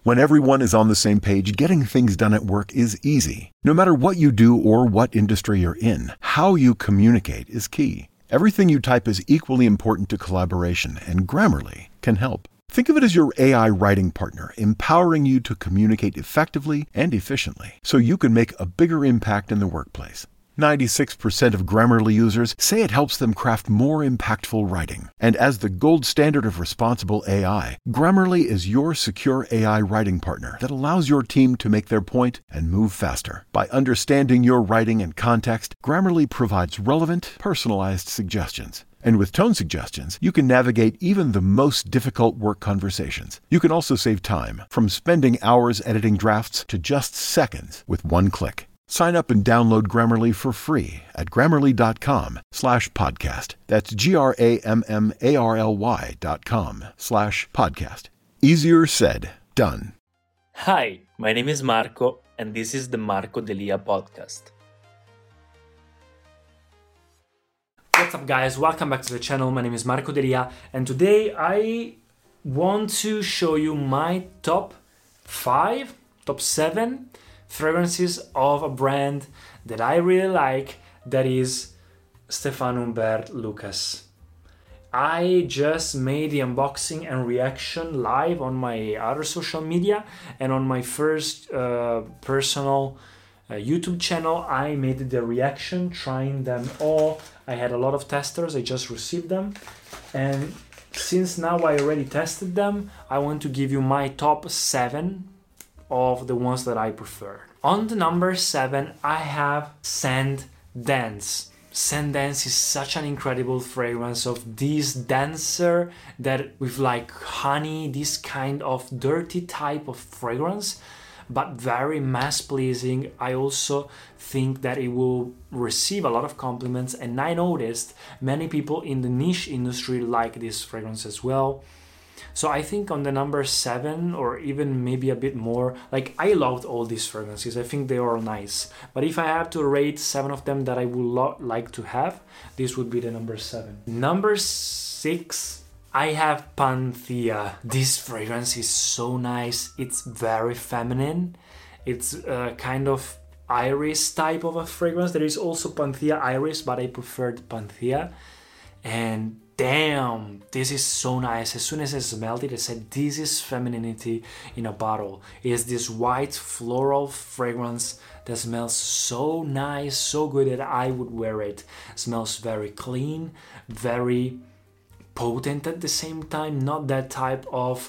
When everyone is on the same page, getting things done at work is easy. No matter what you do or what industry you're in, how you communicate is key. Everything you type is equally important to collaboration, and Grammarly can help. Think of it as your AI writing partner, empowering you to communicate effectively and efficiently, so you can make a bigger impact in the workplace. 96% of Grammarly users say it helps them craft more impactful writing. And as the gold standard of responsible AI, Grammarly is your secure AI writing partner that allows your team to make their point and move faster. By understanding your writing and context, Grammarly provides relevant, personalized suggestions. And with tone suggestions, you can navigate even the most difficult work conversations. You can also save time, from spending hours editing drafts to just seconds with one click. Sign up and download Grammarly for free at Grammarly.com/podcast. That's GRAMMARLY.com/podcast. Easier said, done. Hi, my name is Marco, and this is the Marco Delia podcast. What's up, guys? Welcome back to the channel. My name is Marco Delia, and today I want to show you my top 7 fragrances of a brand that I really like, that is Stéphane Humbert Lucas. I just made the unboxing and reaction live on my other social media, and on my first personal YouTube channel I made the reaction, trying them all. I had a lot of testers, I just received them, and since now I already tested them, I want to give you my top 7 of the ones that I prefer. On the number 7, I have Scent Dance. Scent Dance is such an incredible fragrance of this dancer that with like honey, this kind of dirty type of fragrance, but very mass pleasing. I also think that it will receive a lot of compliments, and I noticed many people in the niche industry like this fragrance as well. So I think on the number 7, or even maybe a bit more, like I loved all these fragrances. I think they are all nice. But if I have to rate 7 of them that I would like to have, this would be the number 7. Number 6, I have Panthea. This fragrance is so nice. It's very feminine. It's a kind of iris type of a fragrance. There is also Panthea Iris, but I preferred Panthea. And damn, this is so nice. As soon as I smelled it, I said, this is femininity in a bottle. It's this white floral fragrance that smells so nice, so good that I would wear it. Smells very clean, very potent at the same time. Not that type of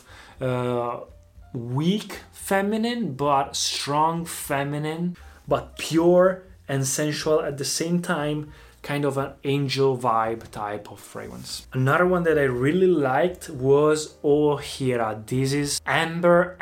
weak feminine, but strong feminine, but pure and sensual at the same time. Kind of an angel vibe type of fragrance. Another one that I really liked was Ohira. This is amber,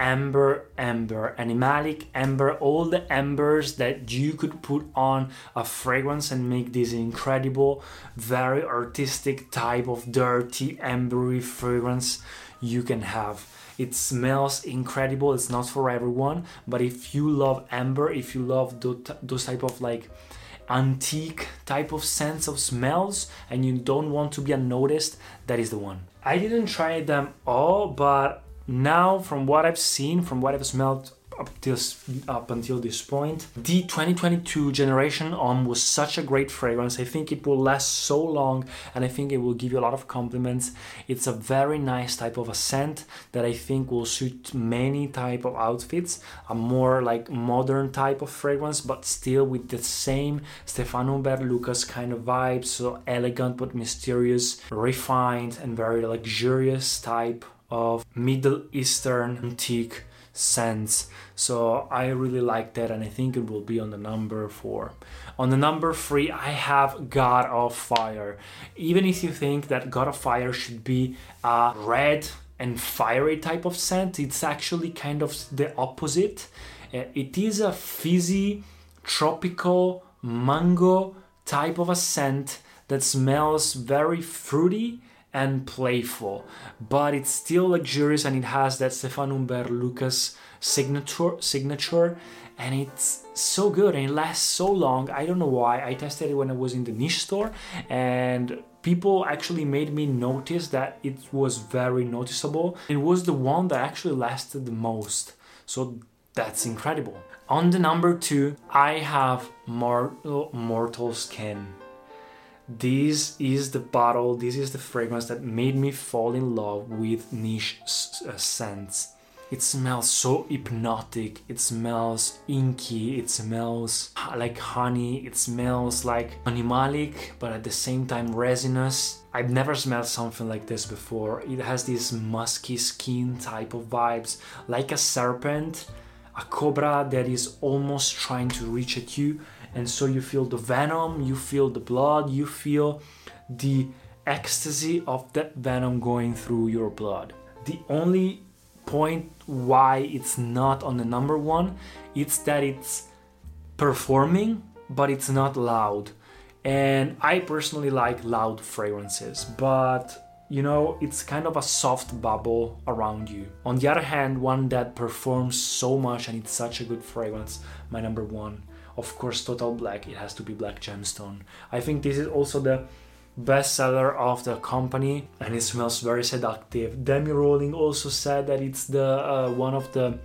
animalic amber, all the ambers that you could put on a fragrance and make this incredible, very artistic type of dirty, ambery fragrance you can have. It smells incredible. It's not for everyone, but if you love amber, if you love those type of like antique type of scents of smells and you don't want to be unnoticed, that is the one. I didn't try them all, but now from what I've seen, from what I've smelled up until this point, the 2022 Generation Homme was such a great fragrance. I think it will last so long, and I think it will give you a lot of compliments. It's a very nice type of a scent that I think will suit many type of outfits. A more like modern type of fragrance, but still with the same Stéphane Humbert Lucas kind of vibe. So elegant but mysterious, refined and very luxurious type of Middle Eastern antique scents. So I really like that, and I think it will be on the number 4. On the number 3, I have God of Fire. Even if you think that God of Fire should be a red and fiery type of scent, it's actually kind of the opposite. It is a fizzy, tropical, mango type of a scent that smells very fruity and playful, but it's still luxurious, and it has that Stéphane Humbert Lucas signature, and it's so good and it lasts so long. I don't know why. I tested it when I was in the niche store, and people actually made me notice that it was very noticeable. It was the one that actually lasted the most. So that's incredible. On the number 2, I have Mortal Skin. This is the bottle, this is the fragrance that made me fall in love with niche scents. It smells so hypnotic, it smells inky, it smells like honey, it smells like animalic, but at the same time resinous. I've never smelled something like this before. It has this musky skin type of vibes, like a serpent, a cobra that is almost trying to reach at you. And so you feel the venom, you feel the blood, you feel the ecstasy of that venom going through your blood. The only point why it's not on the number 1, it's that it's performing, but it's not loud. And I personally like loud fragrances, but you know, it's kind of a soft bubble around you. On the other hand, one that performs so much and it's such a good fragrance, my number 1, of course, Total Black. It has to be Black Gemstone. I think this is also the best seller of the company, and it smells very seductive. Demi Rowling also said that it's the one of the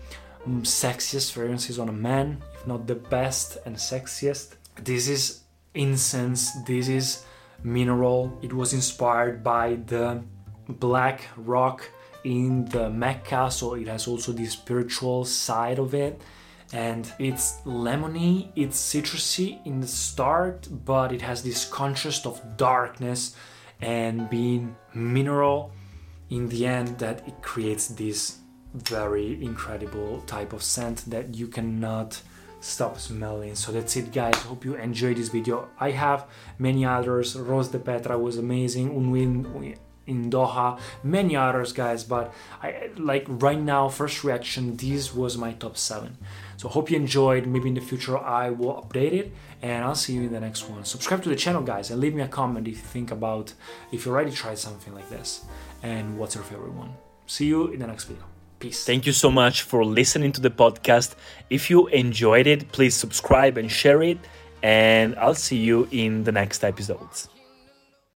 sexiest fragrances on a man, if not the best and sexiest. This is incense, this is mineral. It was inspired by the black rock in the Mecca, so it has also the spiritual side of it. And it's lemony, it's citrusy in the start, but it has this contrast of darkness and being mineral in the end, that it creates this very incredible type of scent that you cannot stop smelling. So that's it, guys. Hope you enjoyed this video. I have many others. Rose de Petra was amazing, Unwin in Doha, many others, guys, but I like right now, first reaction, this was my top 7. So hope you enjoyed. Maybe in the future I will update it, and I'll see you in the next one. Subscribe to the channel, guys, and leave me a comment if you think about, if you already tried something like this, and what's your favorite one. See you in the next video. Peace. Thank you so much for listening to the podcast. If you enjoyed it, please subscribe and share it, and I'll see you in the next episodes.